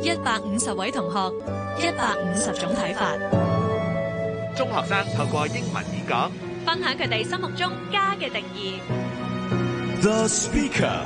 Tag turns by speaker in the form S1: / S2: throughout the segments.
S1: 150位同學，150種睇法。
S2: 中學生透過英文演講，
S1: 分享佢哋心目中家嘅定義。
S2: The Speaker。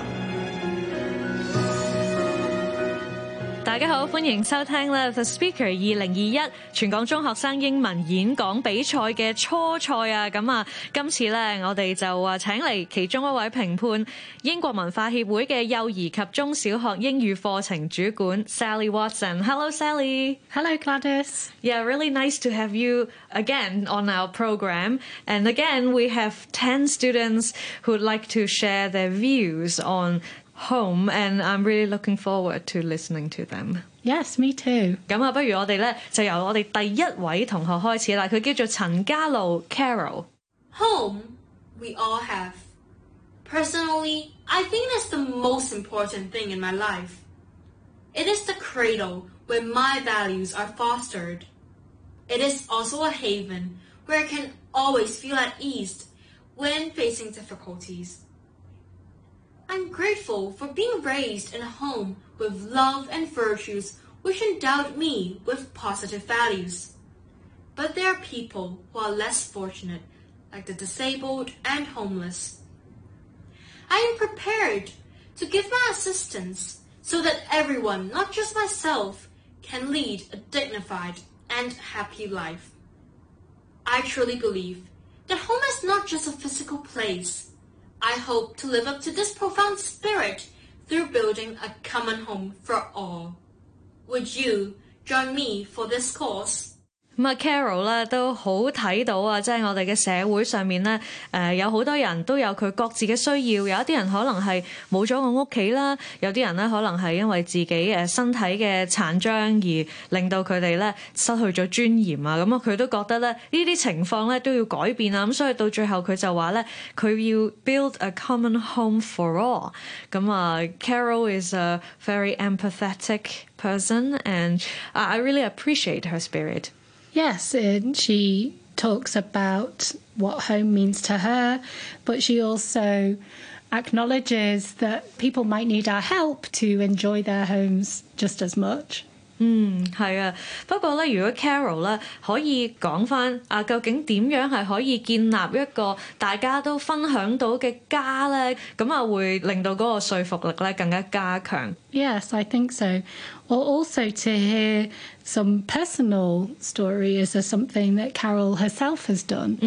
S1: 大家好，歡迎收聽咧 The Speaker 2021全港中學生英文演講比賽嘅初賽啊！咁啊，今次咧我哋就請嚟其中一位評判，英國文化協會嘅幼兒及中小學英語課程主管 Sally Watson。Hello, Sally.
S3: Hello, Gladys.
S1: Yeah, really nice to have you again on our program. And again, we have 10 students who'd like to share their views on home, and I'm really looking forward to listening to them.
S3: Yes, me too.
S1: 咁啊，不如我哋咧就由我哋第一位同學開始啦。佢叫做陳嘉露 Carol。
S4: Home, we all have. Personally, I think that's the most important thing in my life. It is the cradle where my values are fostered. It is also a haven where I can always feel at ease when facing difficulties. I'm grateful for being raised in a home with love and virtues which endowed me with positive values. But there are people who are less fortunate, like the disabled and homeless. I am prepared to give my assistance so that everyone, not just myself, can lead a dignified and happy life. I truly believe that home is not just a physical place.I hope to live up to this profound spirit through building a common home for all. Would you join me for this cause?
S1: 咁啊 Carol 咧都好睇到啊，即係我哋嘅社會上面咧，有好多人都有佢各自嘅需要，有一啲人可能係冇咗個屋企啦，有啲人咧可能係因為自己身體嘅殘障而令到佢哋咧失去咗尊嚴啊，咁啊佢都覺得咧呢啲情況咧都要改變啊，咁所以到最後佢就話咧佢要 build a common home for all。咁啊 Carol is a very empathetic person and I really appreciate her spirit.Yes,
S3: and she talks about what home means to her, but she also acknowledges that people might need our help to enjoy their homes just as much.
S1: 係啊，不過咧，如果 Carol 咧可以講返啊，究竟點樣係可以建立一個大家都分享到嘅家咧？咁啊，會令到嗰個說服力咧更加加強。
S3: Yes, I think so. Or also to hear some personal stories of something that Carol herself has done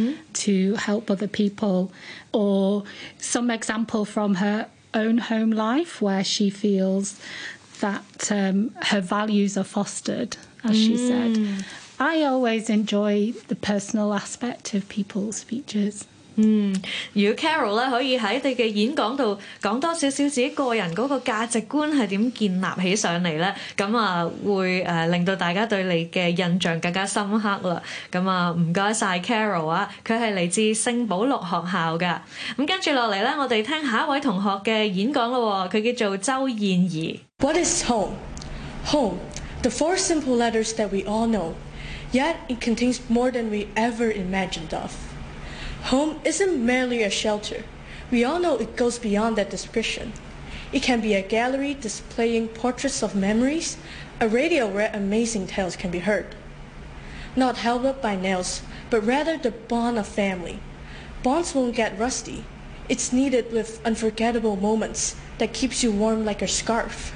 S3: to help other people, or some example from her own home life where she feels that her values are fostered, as she said. I always enjoy the personal aspect of people's speeches.
S1: 如果 Carol 咧可以喺你嘅演講度講多少少自己個人嗰個價值觀係點建立起上嚟咧，咁啊會令到大家對你嘅印象更加深刻啦。咁啊唔該晒 Carol 啊，佢係嚟自聖保祿學校㗎。咁跟住落嚟咧，我哋聽下一位同學嘅演講咯，佢叫做周燕儀。
S5: What is home? Home, the four simple letters that we all know, yet it contains more than we ever imagined of.Home isn't merely a shelter. We all know it goes beyond that description. It can be a gallery displaying portraits of memories, a radio where amazing tales can be heard. Not held up by nails, but rather the bond of family. Bonds won't get rusty. It's needed with unforgettable moments that keeps you warm like a scarf.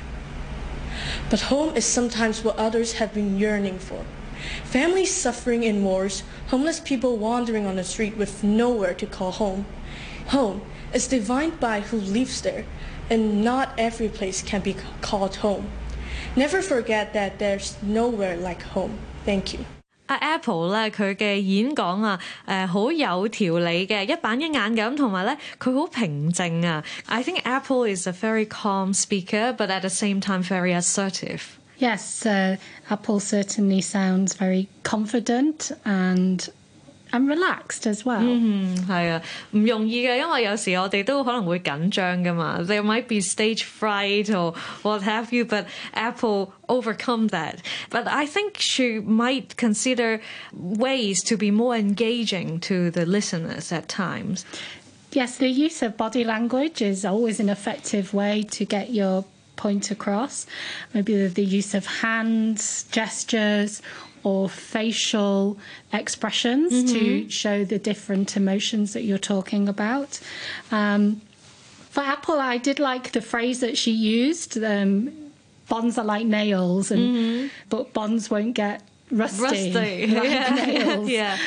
S5: But home is sometimes what others have been yearning for.Families suffering in wars, homeless people wandering on the street with nowhere to call home. Home is defined by who lives there, and not every place can be called home. Never forget that there's nowhere like home. Thank you.
S1: Apple 咧佢嘅演講啊，好有條理嘅，一板一眼咁，同埋咧佢好平靜啊。I think Apple is a very calm speaker, but at the same time very assertive.Yes,
S3: Apple certainly sounds very confident and relaxed as well.
S1: 係啊，唔容易嘅，因為有時我哋都可能會緊張㗎嘛。There might be stage fright or what have you, but Apple overcome that. But I think she might consider ways to be more engaging to the listeners at times.
S3: Yes, the use of body language is always an effective way to get your point across. Maybe the use of hands, gestures, or facial expressions to show the different emotions that you're talking about. For Apple, I did like the phrase that she used, bonds are like nails, but bonds won't get rusty like nails.
S1: Yeah.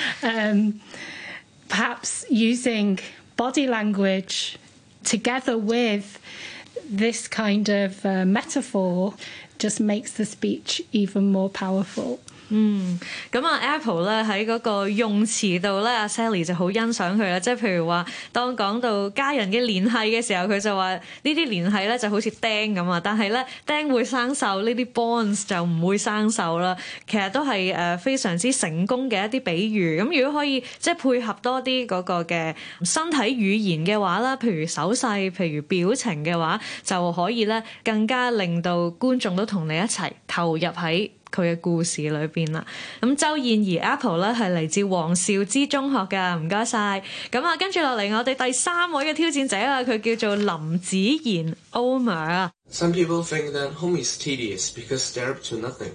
S3: Perhaps using body language together with this kind of metaphor just makes the speech even more powerful.
S1: 咁啊 Apple 咧喺嗰個用詞度咧，阿 Sally 就好欣賞佢啦。即係譬如話，當講到家人嘅聯繫嘅時候，佢就話呢啲聯繫咧就好似釘咁啊，但係咧釘會生鏽，呢啲 bonds 就唔會生鏽啦。其實都係非常之成功嘅一啲比喻。咁如果可以即係配合多啲嗰個嘅身體語言嘅話啦，譬如手勢、譬如表情嘅話，就可以咧更加令到觀眾都同你一齊投入喺佢嘅故事裏邊啦。咁周燕怡 Apple 咧係嚟自黃兆之中學㗎，唔該晒。咁啊，跟住落嚟我哋第三位嘅挑戰者啦，佢叫做林子賢 Omer 啊。
S6: Some people think that home is tedious because they're up to nothing.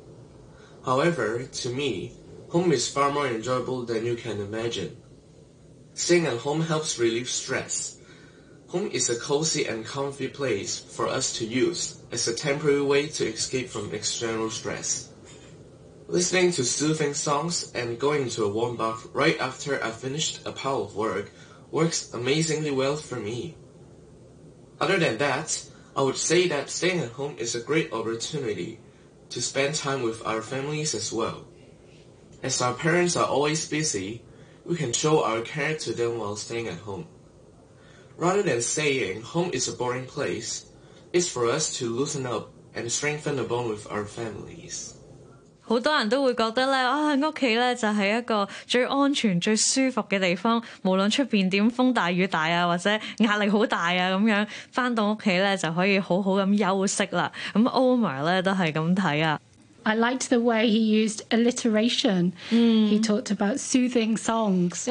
S6: However, to me, home is far more enjoyable than you can imagine. Staying at home helps relieve stress. Home is a cozy and comfy place for us to use as a temporary way to escape from external stress. Listening to soothing songs and going to a warm bath right after I've finished a pile of work works amazingly well for me. Other than that, I would say that staying at home is a great opportunity to spend time with our families as well. As our parents are always busy, we can show our care to them while staying at home.Rather than saying home is a boring place, it's for us to loosen up and strengthen the bond with our families.
S1: 好多人都會覺得咧，屋企咧就係一個最安全、最舒服嘅地方，無論出邊點風大雨大啊，或者壓力好大啊咁樣，返到屋企咧就可以好好咁休息啦。咁 Omer 咧都係咁睇啊。
S3: I liked the way he used alliteration. He talked about soothing songs.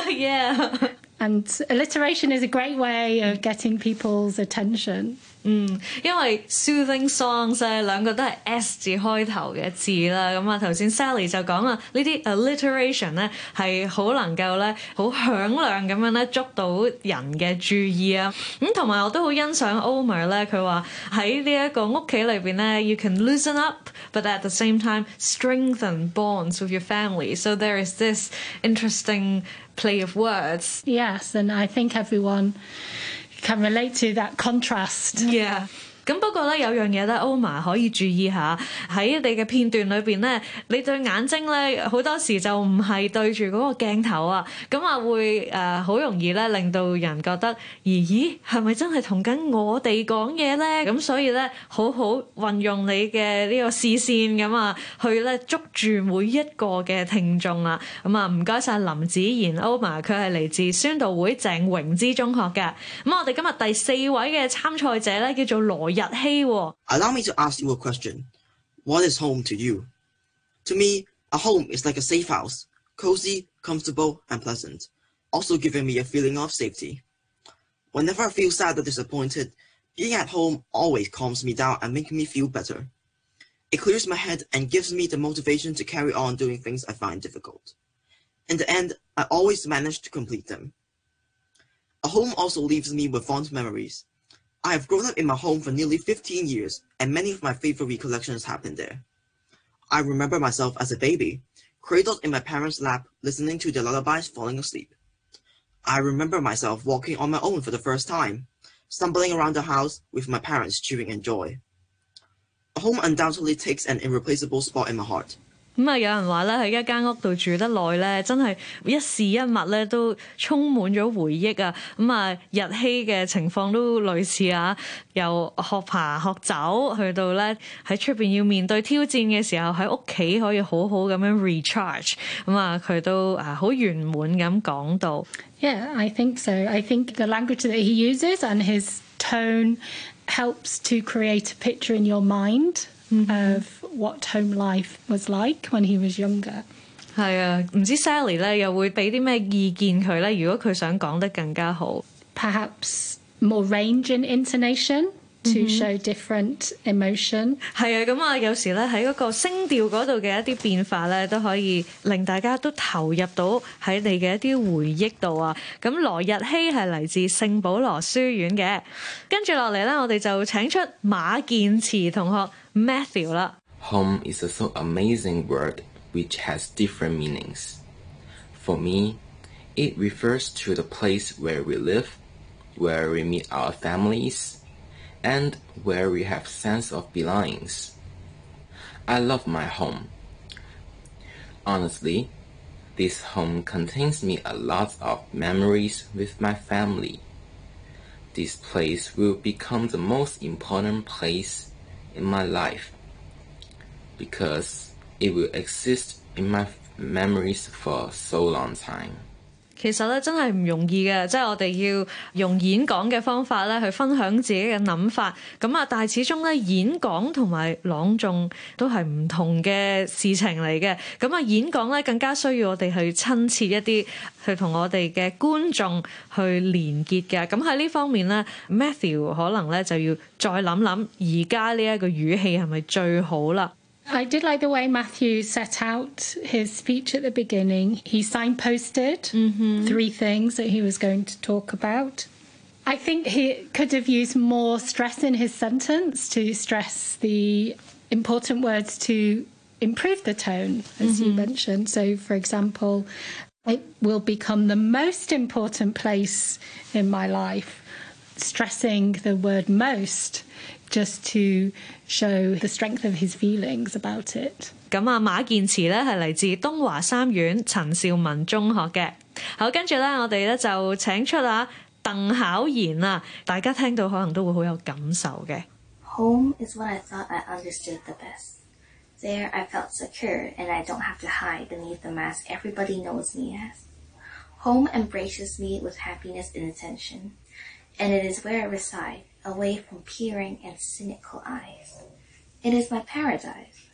S1: Yeah.And
S3: alliteration is a great way of getting people's attention.
S1: 因為 soothing songs 咧兩個都係 S 字開頭嘅字啦，咁啊頭先 Sally 就講啦，呢啲 alliteration 咧係好能夠咧好響亮咁樣咧捉到人嘅注意啊，咁同埋我都好欣賞 Omer 咧，佢話喺呢一個屋企裏邊咧 you can loosen up but at the same time strengthen bonds with your family, so there is this interesting play of words.
S3: Yes, and I think everyone can relate to that contrast.
S1: Yeah. 咁不過咧有樣嘢咧 Omer 可以注意下，喺你嘅片段裏邊咧，你對眼睛咧好多時就唔係對住嗰個鏡頭啊，咁啊會好容易咧令到人覺得咦係咪真係同緊我哋講嘢咧？咁所以咧好好運用你嘅呢個視線咁啊，去咧捉住每一個嘅聽眾啊。咁啊唔該晒林子賢 Omer， 佢係嚟自宣道會鄭榮之中學嘅。咁我哋今日第四位嘅參賽者咧叫做羅
S7: Allow me to ask you a question. What is home to you? To me, a home is like a safe house, cozy, comfortable, and pleasant, also giving me a feeling of safety. Whenever I feel sad or disappointed, being at home always calms me down and makes me feel better. It clears my head and gives me the motivation to carry on doing things I find difficult. In the end, I always manage to complete them. A home also leaves me with fond memories.I have grown up in my home for nearly 15 years, and many of my favorite recollections happened there. I remember myself as a baby, cradled in my parents' lap, listening to their lullabies falling asleep. I remember myself walking on my own for the first time, stumbling around the house with my parents cheering in joy. A home undoubtedly takes an irreplaceable spot in my heart.
S1: 咁啊，有人話咧喺一間屋度住得耐咧，真係一事一物咧都充滿咗回憶啊！咁啊，日希嘅情況都類似啊，由學爬學走去到咧喺出邊要面對挑戰嘅時候，喺屋企可以好好咁樣 recharge。咁啊，佢都好圓滿咁講到。
S3: Yeah, I think so. I think the language that he uses and his tone helps to create a picture in your mind.Of what home life was like when he was younger.
S1: 係啊，唔知 Sally 咧又會俾啲咩意見佢咧？如果佢想講得更加好
S3: ，perhaps more range in intonation. to show different emotion.
S1: 係啊，咁啊，有時咧喺嗰個聲調嗰度嘅一啲變化咧，都可以令大家都投入到喺你嘅一啲回憶度啊。咁羅日希係嚟自聖保羅書院嘅，跟住落嚟咧，我哋就請出馬健慈同學 Matthew 啦。
S8: Home is a so amazing word which has different meanings. For me, it refers to the place where we live, where we meet our families, and where we have sense of belongings. I love my home. Honestly, this home contains me a lot of memories with my family. This place will become the most important place in my life because it will exist in my memories for so long time.
S1: 其實咧真係唔容易嘅，即係我哋要用演講嘅方法咧去分享自己嘅諗法，咁啊，但係始終咧演講同埋朗誦都係唔同嘅事情嚟嘅，咁啊演講咧更加需要我哋去親切一啲，去同我哋嘅觀眾去連結嘅，咁喺呢方面咧 Matthew 可能咧就要再諗諗而家呢一個語氣係咪最好啦。
S3: I did like the way Matthew set out his speech at the beginning. He signposted 3 things that he was going to talk about. I think he could have used more stress in his sentence to stress the important words to improve the tone, as you mentioned. So, for example, it will become the most important place in my life, stressing the word most just to show the strength of his feelings about it.
S1: 咁啊，馬健慈咧係嚟自東華三院陳兆文中學嘅。好，跟住咧我哋咧就請出啊鄧巧賢啊，大家聽到可能都會好有感受嘅。
S9: Home is what I thought I understood the best. There I felt secure and I don't have to hide beneath the mask everybody knows me as. Home embraces me with happiness and attention, and it is where I reside, away from peering and cynical eyes. It is my paradise.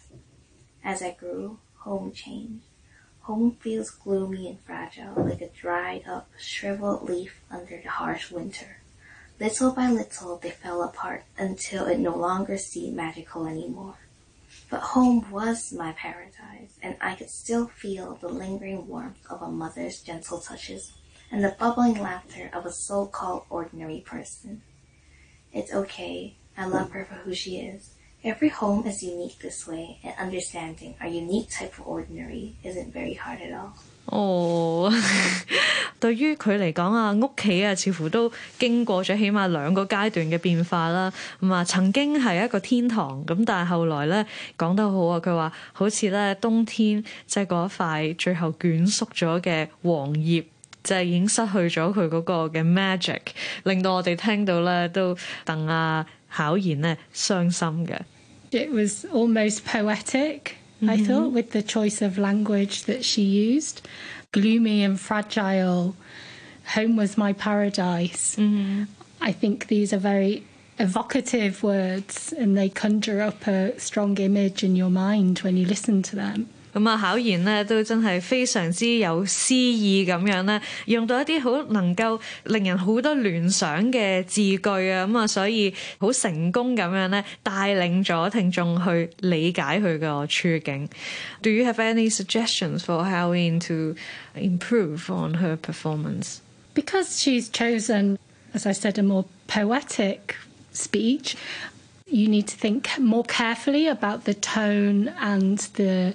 S9: As I grew, home changed. Home feels gloomy and fragile, like a dried-up, shriveled leaf under the harsh winter. Little by little, they fell apart until it no longer seemed magical anymore. But home was my paradise, and I could still feel the lingering warmth of a mother's gentle touches and the bubbling laughter of a so-called ordinary person. It's okay. I love her for who she is. Every home is unique this way, and understanding our unique type of ordinary isn't very hard at all.
S1: 哦，對於佢嚟講啊，屋企啊，似乎都經過咗起碼2個階段嘅變化啦。咁啊，曾經係一個天堂，咁但係後來咧講得好啊，佢話好似咧冬天即係嗰一塊最後捲縮咗嘅黃葉。就係已經失去咗佢嗰個嘅 magic， 令到我哋聽到咧都戥阿巧賢咧傷心嘅。
S3: It was almost poetic, I thought, with the choice of language that she used. Gloomy and fragile. Home was my paradise. I think these are very evocative words and they conjure up a strong image in your mind when you listen to them.
S1: 咁啊，巧賢咧都真係非常之有詩意咁樣咧，用到一啲好能夠令人好多聯想嘅字句啊，咁啊，所以好成功咁樣咧帶領咗聽眾去理解佢個處境。Do you have any suggestions for Halloween to improve on her performance?
S3: Because she's chosen, as I said, a more poetic speech, you need to think more carefully about the tone and the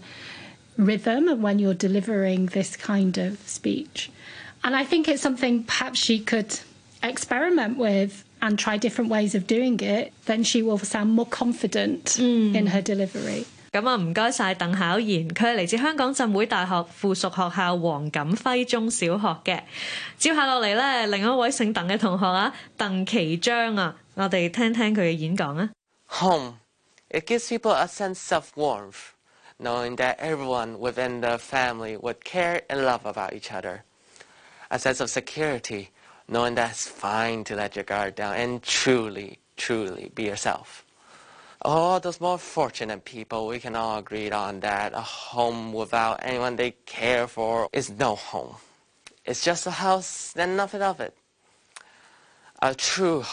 S3: rhythm and when you're delivering this kind of speech. And I think it's something perhaps she could experiment with and try different ways of doing it. Then she will sound more confident in her delivery.
S1: 咁啊，唔該晒鄧巧賢，佢係嚟自香港浸會大學附屬學校黃錦輝中小學嘅。接下落嚟咧，另一位姓鄧嘅同學啊，鄧其章啊，我哋聽聽佢嘅演講啊。
S10: Home, it gives people a sense of warmth, knowing that everyone within the family would care and love about each other. A sense of security, knowing that it's fine to let your guard down and truly, truly be yourself. All those more fortunate people, we can all agree on that a home without anyone they care for is no home. It's just a house and nothing of it. A true home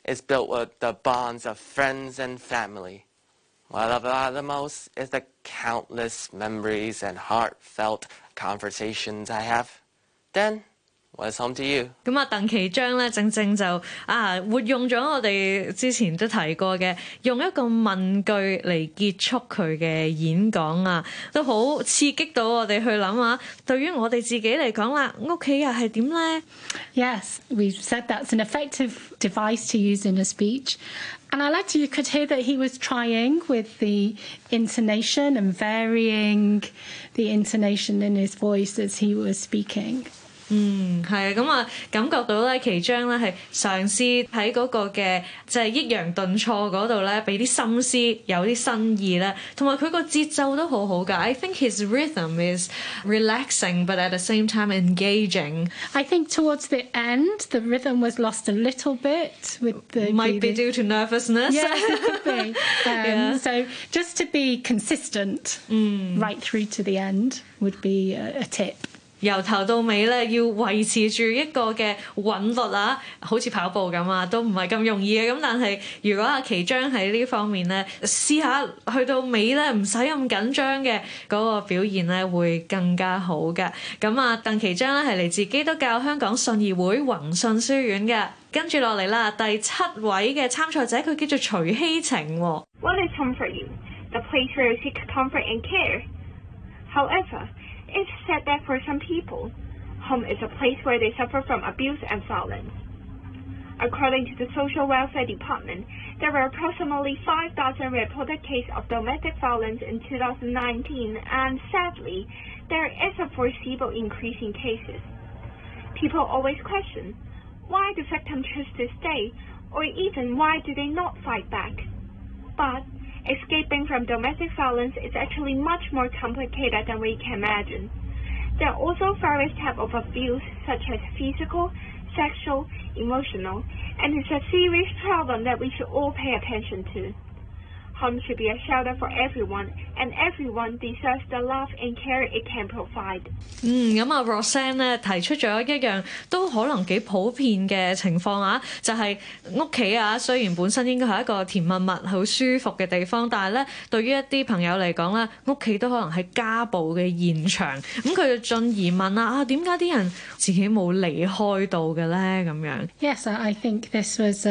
S10: is built with the bonds of friends and family. What I love about it the most is the countless memories and heartfelt conversations I have. Dan, what's home to you?
S1: 咁啊，鄧其章咧，正正就活用咗我哋之前都提過嘅，用一個問句嚟結束佢嘅演講啊，都好刺激到我哋去諗下，對於我哋自己嚟講啦，屋企又係點咧
S3: Yes, we've said that's an effective device to use in a speech. And I liked you could hear that he was trying with the intonation and varying the intonation in his voice as he was speaking.
S1: 係啊，咁啊，感覺到咧，其章咧係嘗試喺嗰個嘅即係抑揚頓挫嗰度咧，俾啲心思，有啲新意咧，同埋佢個節奏都好好㗎。I think his rhythm is relaxing, but at the same time engaging.
S3: I think towards the end, the rhythm was lost a little bit with the
S1: might be due to nervousness.
S3: Yes, it could be.
S1: Yeah.
S3: So just to be consistent right through to the end would be a tip.
S1: 由頭到尾咧，要維持住一個嘅韻律啊，好似跑步咁啊，都唔係咁容易嘅。咁但係如果阿其章喺呢方面咧，試下去到尾咧，唔使咁緊張嘅嗰個表現咧，會更加好嘅。咁啊，鄧其章咧係嚟自基督教香港信義會宏信書院嘅。跟住落嚟啦，第7位嘅參賽者佢叫做徐希晴。
S11: What is home for you? The place where you seek comfort and care. However, it's said that for some people, home is a place where they suffer from abuse and violence. According to the Social Welfare Department, there were approximately 5,000 reported cases of domestic violence in 2019, and sadly, there is a foreseeable increase in cases. People always question, why do victims choose to stay, or even why do they not fight back? But escaping from domestic violence is actually much more complicated than we can imagine. There are also various types of abuse, such as physical, sexual, emotional, and it's a serious problem that we should all pay attention to. Home should be a shelter for everyone, and everyone deserves the love and care it can provide.
S1: 咁啊 Rosanne 咧提出咗一樣都可能幾普遍嘅情況啊，就係屋企啊，雖然本身應該係一個甜蜜蜜、好舒服嘅地方，但係咧對於一啲朋友嚟講咧，屋企都可能係家暴嘅現場。咁佢就進而問啦，點解啲人自己冇離開到嘅咧？咁樣。
S3: Yes, I think this was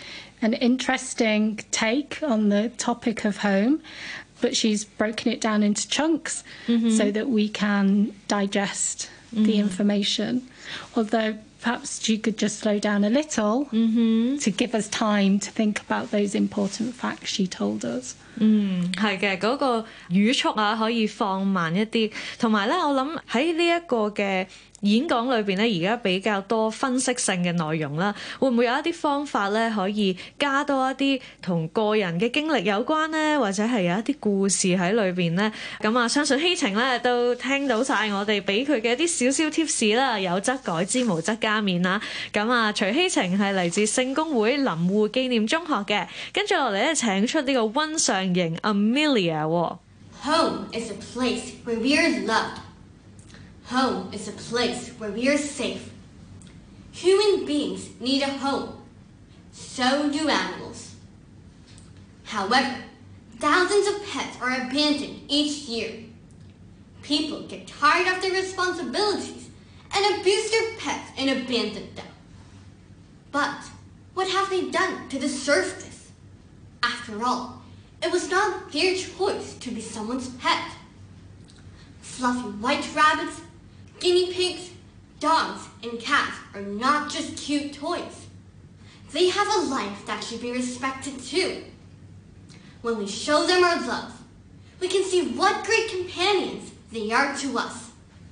S3: an interesting take on the topic of home, but she's broken it down into chunks so that we can digest the information. Although perhaps you could just slow down a little to give us time to think about those important facts she told us.
S1: 係嘅，嗰個語速啊可以放慢一啲，同埋咧，我諗喺呢一個嘅演講裏邊咧，而家比較多分析性嘅內容啦，會唔會有一啲方法咧可以加多一啲同個人嘅經歷有關咧，或者係有一啲故事喺裏邊咧？咁啊，相信希晴咧都聽到晒我哋俾佢嘅一啲少少 tips 啦，有則改之，無則加勉啦。咁啊，徐希晴係嚟自聖公會林護紀念中學嘅，跟住落嚟咧請出呢個溫上型 Amelia。
S12: Home is a place where we are loved. Home is a place where we are safe. Human beings need a home. So do animals. However, thousands of pets are abandoned each year. People get tired of their responsibilities and abuse their pets and abandon them. But what have they done to deserve this? After all, it was not their choice to be someone's pet. Fluffy white rabbits, guinea pigs, dogs, and cats are not just cute toys. They have a life that should be respected too. When we show them our love, we can see what great companions they are to us.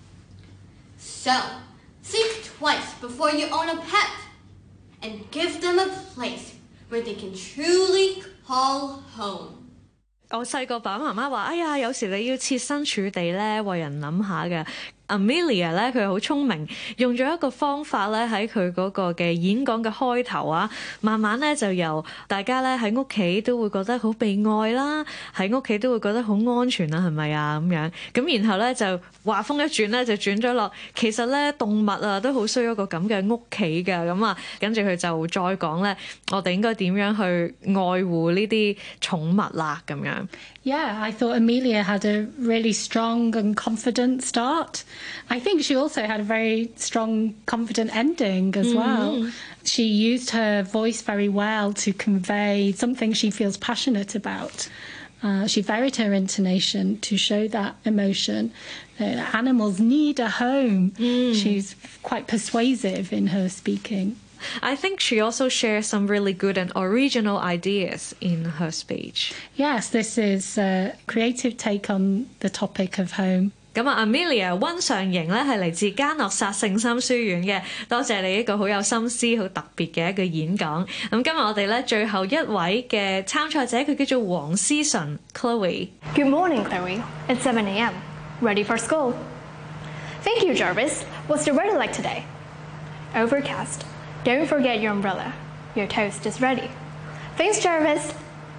S12: So, think twice before you own a pet, and give them a place where they can truly call home.
S1: 我細個爸爸媽媽話：哎呀，有時你要設身處地咧，為人諗下嘅。 Amelia 咧，佢好聰明，用咗一個方法咧喺佢嗰個嘅演講嘅開頭啊，慢慢咧就由大家咧喺屋企都會覺得好被愛啦，喺屋企都會覺得好安全啦，係咪啊咁樣？咁然後咧就話風一轉咧，就轉咗落其實咧動物啊都好需要一個咁嘅屋企㗎，咁啊跟住佢就再講咧，我哋應該點樣去愛護呢啲寵物啦咁樣。
S3: Yeah, I thought Amelia had a really strong and confident start. I think she also had a very strong, confident ending as well. She used her voice very well to convey something she feels passionate about. She varied her intonation to show that emotion. Animals need a home. She's quite persuasive in her speaking.
S1: I think she also shares some really good and original ideas in her speech.
S3: Yes, this is a creative take on the topic of home.
S1: 咁啊 Amelia 溫上瑩咧係嚟自嘉諾撒聖心書院嘅，多謝你一個好有心思、好特別嘅一個演講。咁今日我哋咧最後一位嘅參賽者，佢叫做黃思純 Chloe。
S13: Good morning, Chloe. It's 7 a.m. Ready for school? Thank you, Jarvis. What's the weather like today? Overcast. Don't forget your umbrella. Your toast is ready. Thanks, Jarvis.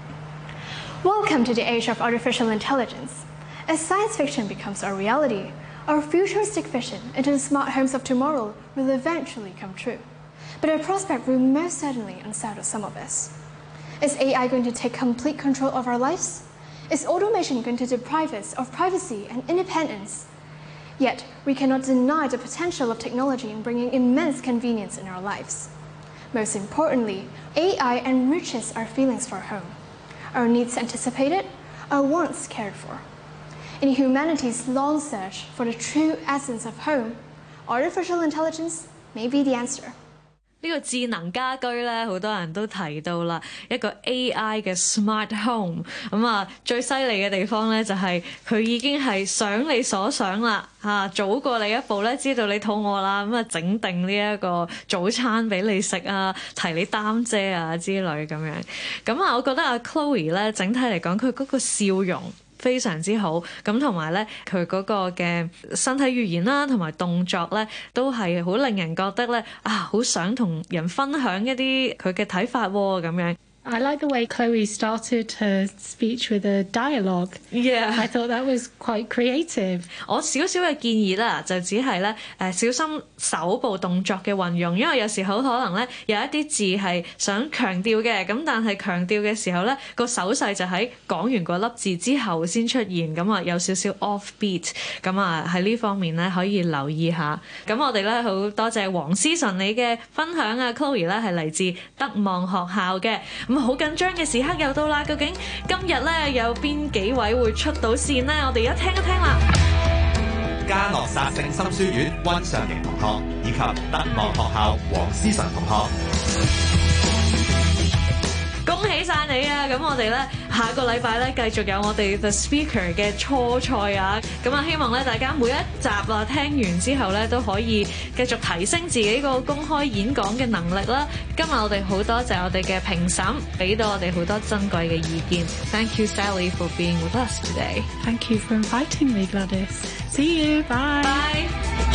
S13: Welcome to the age of artificial intelligence. As science fiction becomes our reality, our futuristic vision into the smart homes of tomorrow will eventually come true. But our prospect will most certainly unsettle some of us. Is AI going to take complete control of our lives? Is automation going to deprive us of privacy and independence? Yet, we cannot deny the potential of technology in bringing immense convenience in our lives. Most importantly, AI enriches our feelings for home, our needs anticipated, our wants cared for. In humanity's long search for the true essence of home, artificial intelligence may be the answer.
S1: 呢個智能家居咧，好多人都提到啦，一個 AI 嘅 smart home。咁啊，最犀利嘅地方咧，就係佢已經係想你所想啦，早過你一步咧，知道你肚餓啦，咁啊整定呢一個早餐俾你食啊，提你擔遮啊之類咁樣。咁啊，我覺得阿 Chloe 咧，整體嚟講，佢嗰個笑容非常之好，咁同埋咧佢嗰個嘅身體語言啦，同埋動作咧，都係好令人覺得咧好想同人分享一啲佢嘅睇法喎咁樣。
S3: I like the way Chloe started her speech with a dialogue.
S1: Yeah,
S3: I thought that was quite creative.
S1: 我少少嘅建議啦，就只係咧小心手部動作嘅運用，因為有時候可能咧有一啲字係想強調嘅，咁但係強調嘅時候咧個手勢就喺講完嗰粒字之後先出現，咁啊有少少 off beat， 咁啊喺呢方面咧可以留意下。咁我哋咧好多謝黃思純你嘅分享啊 ，Chloe 咧係嚟自德望學校嘅。咁好緊張嘅時刻又到啦，究竟今日咧有邊幾位會出到線呢？我哋而家聽一聽啦。
S2: 嘉諾撒聖心書院溫上瑩同學以及德望學校黃思純同學。
S1: 恭喜晒你啊！咁我哋咧下個禮拜咧繼續有我哋 The Speaker 嘅初賽啊！咁啊希望咧大家每一集啊聽完之後咧都可以繼續提升自己個公開演講嘅能力啦！今日我哋好多謝我哋嘅評審，俾到我哋好多珍貴嘅意見。Thank you, Sally, for being with us today.
S3: Thank you for inviting me, Gladys. See you. Bye.
S1: Bye.